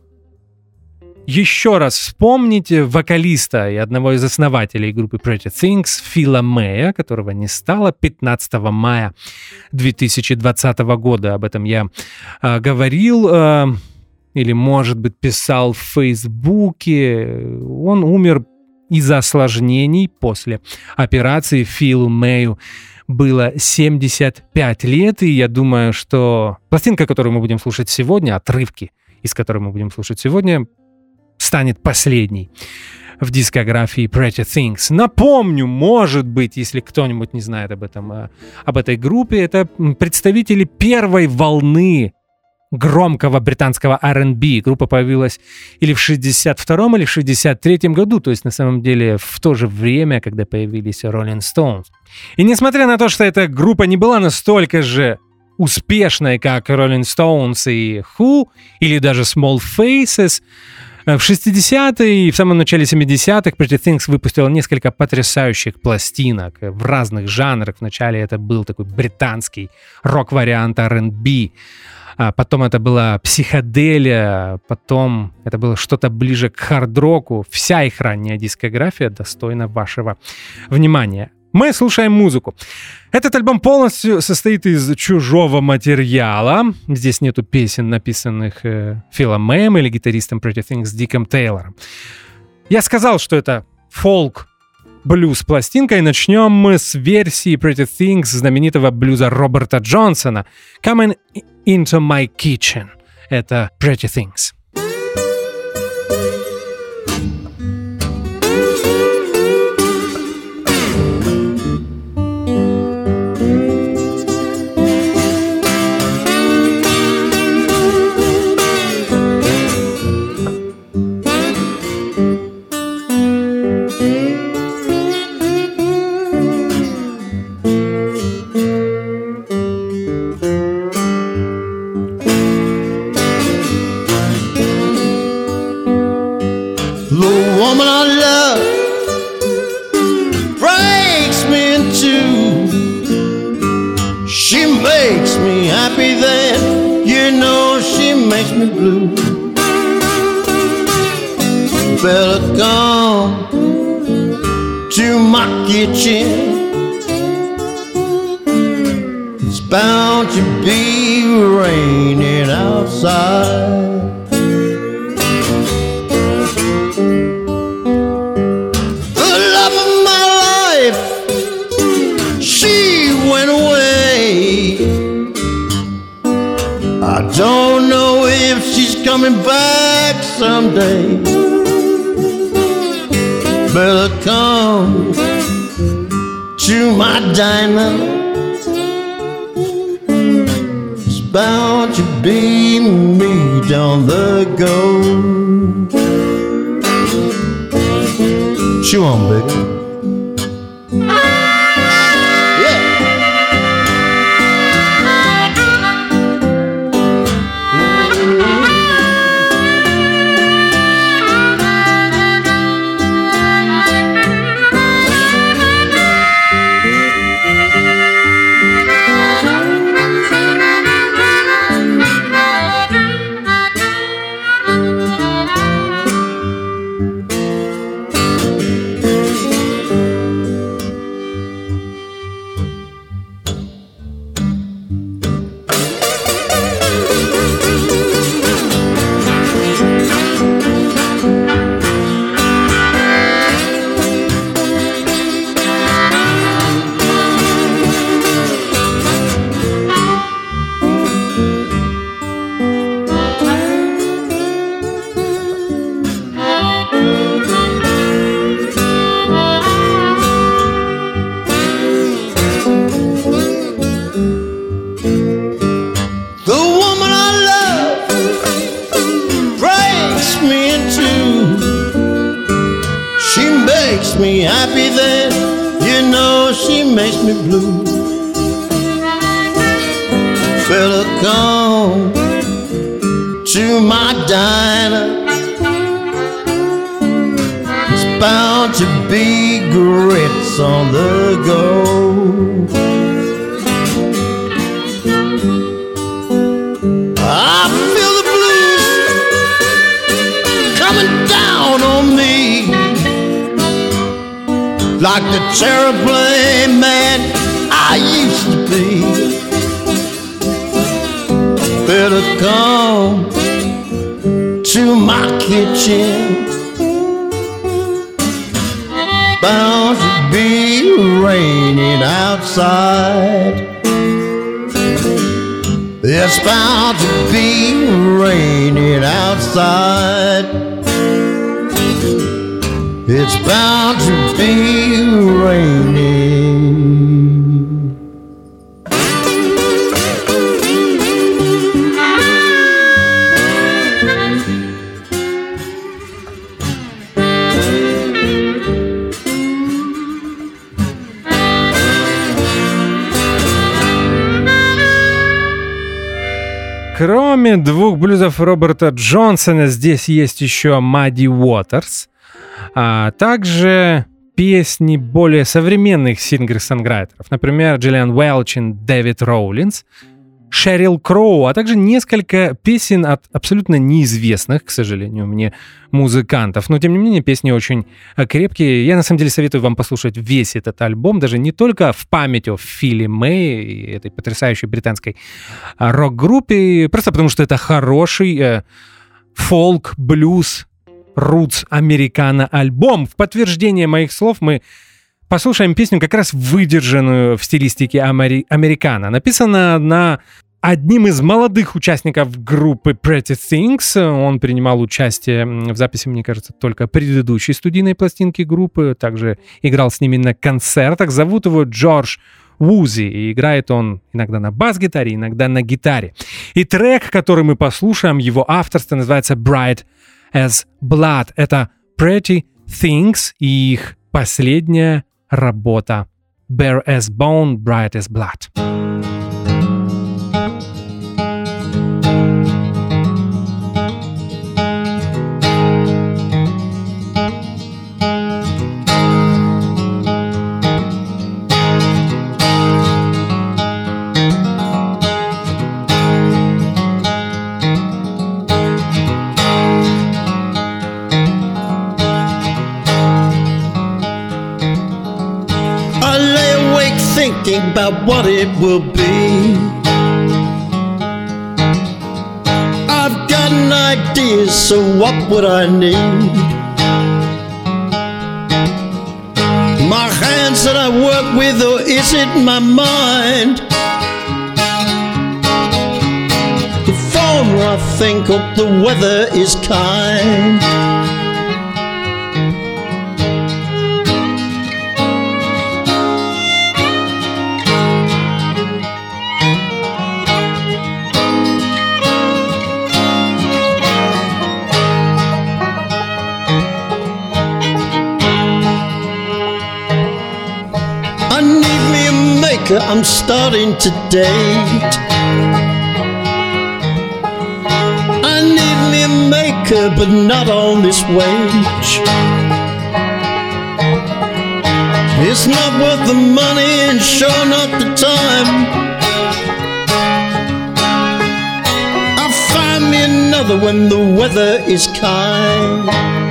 еще раз вспомнить вокалиста и одного из основателей группы Pretty Things Фила Мэя, которого не стало 15 мая 2020 года. Об этом я говорил или, может быть, писал в Фейсбуке. Он умер из-за осложнений после операции. Филу Мэю было 75 лет, и я думаю, что пластинка, которую мы будем слушать сегодня, отрывки, из которой мы будем слушать сегодня, станет последней в дискографии Pretty Things. Напомню, может быть, если кто-нибудь не знает об этой группе, это представители первой волны громкого британского R&B. Группа появилась или в 62-м, или в 63-м году, то есть на самом деле в то же время, когда появились Rolling Stones. И несмотря на то, что эта группа не была настолько же успешной, как Rolling Stones и Who, или даже Small Faces, в 60-е и в самом начале 70-х Pretty Things выпустила несколько потрясающих пластинок в разных жанрах. Вначале это был такой британский рок-вариант R&B, потом это была психоделия, потом это было что-то ближе к хард-року. Вся их ранняя дискография достойна вашего внимания. Мы слушаем музыку. Этот альбом полностью состоит из чужого материала. Здесь нету песен, написанных Филом Мэем или гитаристом Pretty Things Диком Тейлором. Я сказал, что это фолк-блюз-пластинка, и начнем мы с версии Pretty Things знаменитого блюза Роберта Джонсона «Coming into my kitchen». Это Pretty Things. Better come to my kitchen. It's bound to be raining outside. The love of my life, she went away. I don't know if she's coming back someday. Better come to my diner. It's bound to be meat on the go. Chew on, baby. Me happy then, you know she makes me blue. Better come to my diner. It's bound to be grits on the go. I feel the blues coming down on me, like the terribly man I used to be. Better come to my kitchen. Bound to be raining outside. It's bound to be raining outside. It's bound to be raining. Кроме двух блюзов Роберта Джонсона, здесь есть еще Muddy Waters, а также песни более современных сингер-сонграйтеров, например, Джиллиан Уэлчин, Дэвид Роулинс, Шерил Кроу, а также несколько песен от абсолютно неизвестных, к сожалению, мне музыкантов. Но, тем не менее, песни очень крепкие. Я, на самом деле, советую вам послушать весь этот альбом, даже не только в память о Филли Мэй, этой потрясающей британской рок-группе, просто потому что это хороший фолк, блюз, рутс, американо альбом. В подтверждение моих слов мы послушаем песню, как раз выдержанную в стилистике американо. Написана она одним из молодых участников группы Pretty Things. Он принимал участие в записи, мне кажется, только предыдущей студийной пластинки группы. Также играл с ними на концертах. Зовут его Джордж Вузи. И играет он иногда на бас-гитаре, иногда на гитаре. И трек, который мы послушаем, его авторство, называется Bright as Blood. Это Pretty Things и их последняя работа Bare as Bone, Bright as Blood. Thinking about what it will be. I've got an idea, so what would I need? My hands that I work with, or is it my mind? The former I think of, the weather is kind. I'm starting to date. I need me a maker, but not on this wage. It's not worth the money and sure not the time. I'll find me another when the weather is kind.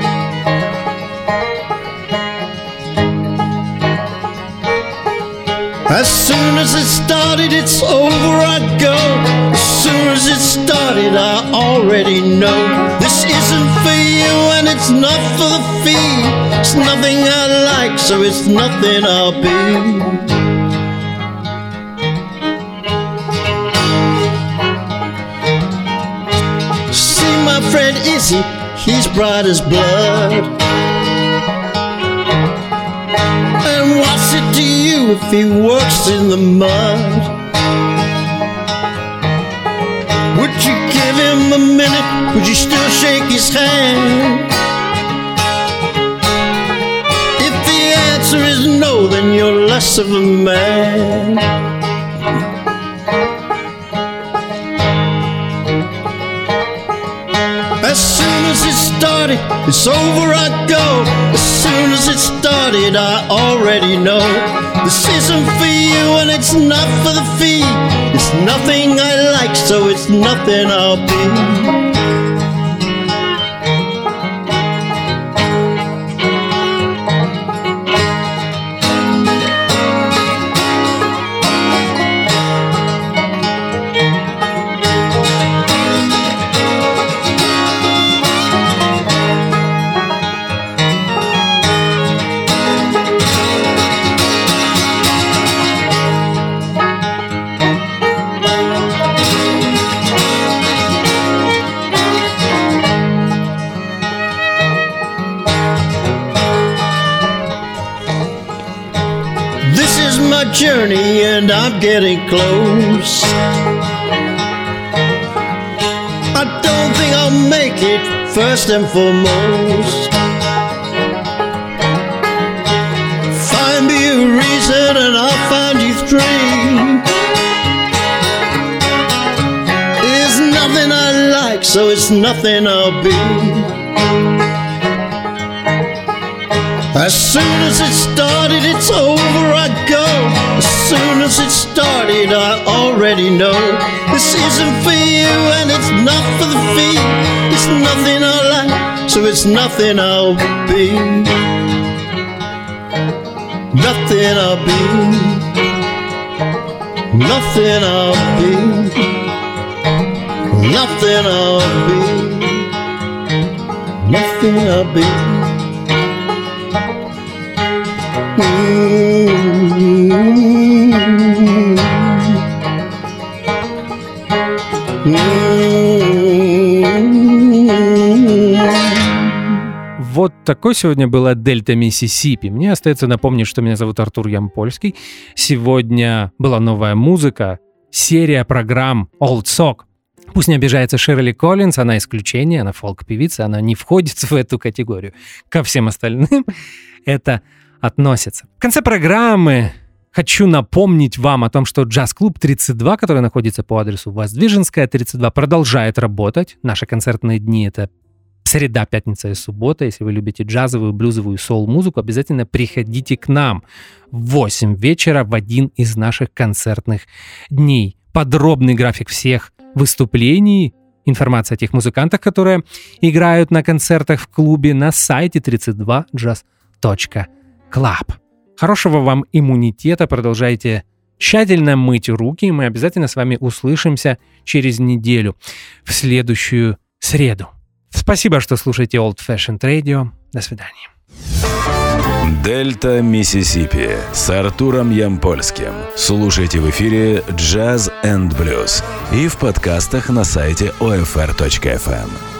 As soon as it started, it's over, I go. As soon as it started, I already know this isn't for you and it's not for the fee. It's nothing I like, so it's nothing I'll be. See my friend Izzy, he's bright as blood. And what's it to you if he works in the mud? Would you give him a minute? Would you still shake his hand? If the answer is no, then you're less of a man. As soon as it started, it's over I go. As soon as it started, I already know this isn't for you and it's not for the fee. It's nothing I like, so it's nothing I'll be. Journey and I'm getting close. I don't think I'll make it first and foremost. Find me a reason and I'll find you three. There's nothing I like, so it's nothing I'll be. As soon as it started, it's over I go. As soon as it started, I already know this isn't for you and it's not for the fee. It's nothing I like, so it's nothing I'll be. Nothing I'll be. Nothing I'll be. Nothing I'll be. Nothing I'll be. Вот такой сегодня была Дельта Миссисипи. Мне остается напомнить, что меня зовут Артур Ямпольский. Сегодня была новая музыка, серия программ Old Sock. Пусть не обижается Ширли Коллинз, она исключение, она фолк-певица, она не входит в эту категорию. Ко всем остальным это относится. В конце программы хочу напомнить вам о том, что джаз-клуб 32, который находится по адресу Воздвиженская, 32, продолжает работать. Наши концертные дни — это среда, пятница и суббота. Если вы любите джазовую, блюзовую, соул-музыку, обязательно приходите к нам в 8 вечера в один из наших концертных дней. Подробный график всех выступлений, информация о тех музыкантах, которые играют на концертах в клубе, на сайте 32jazz.club. Хорошего вам иммунитета, продолжайте тщательно мыть руки, и мы обязательно с вами услышимся через неделю, в следующую среду. Спасибо, что слушаете Old Fashioned Radio. До свидания. Дельта Миссисипи с Артуром Ямпольским. Слушайте в эфире Jazz and Blues и в подкастах на сайте OFR.FM.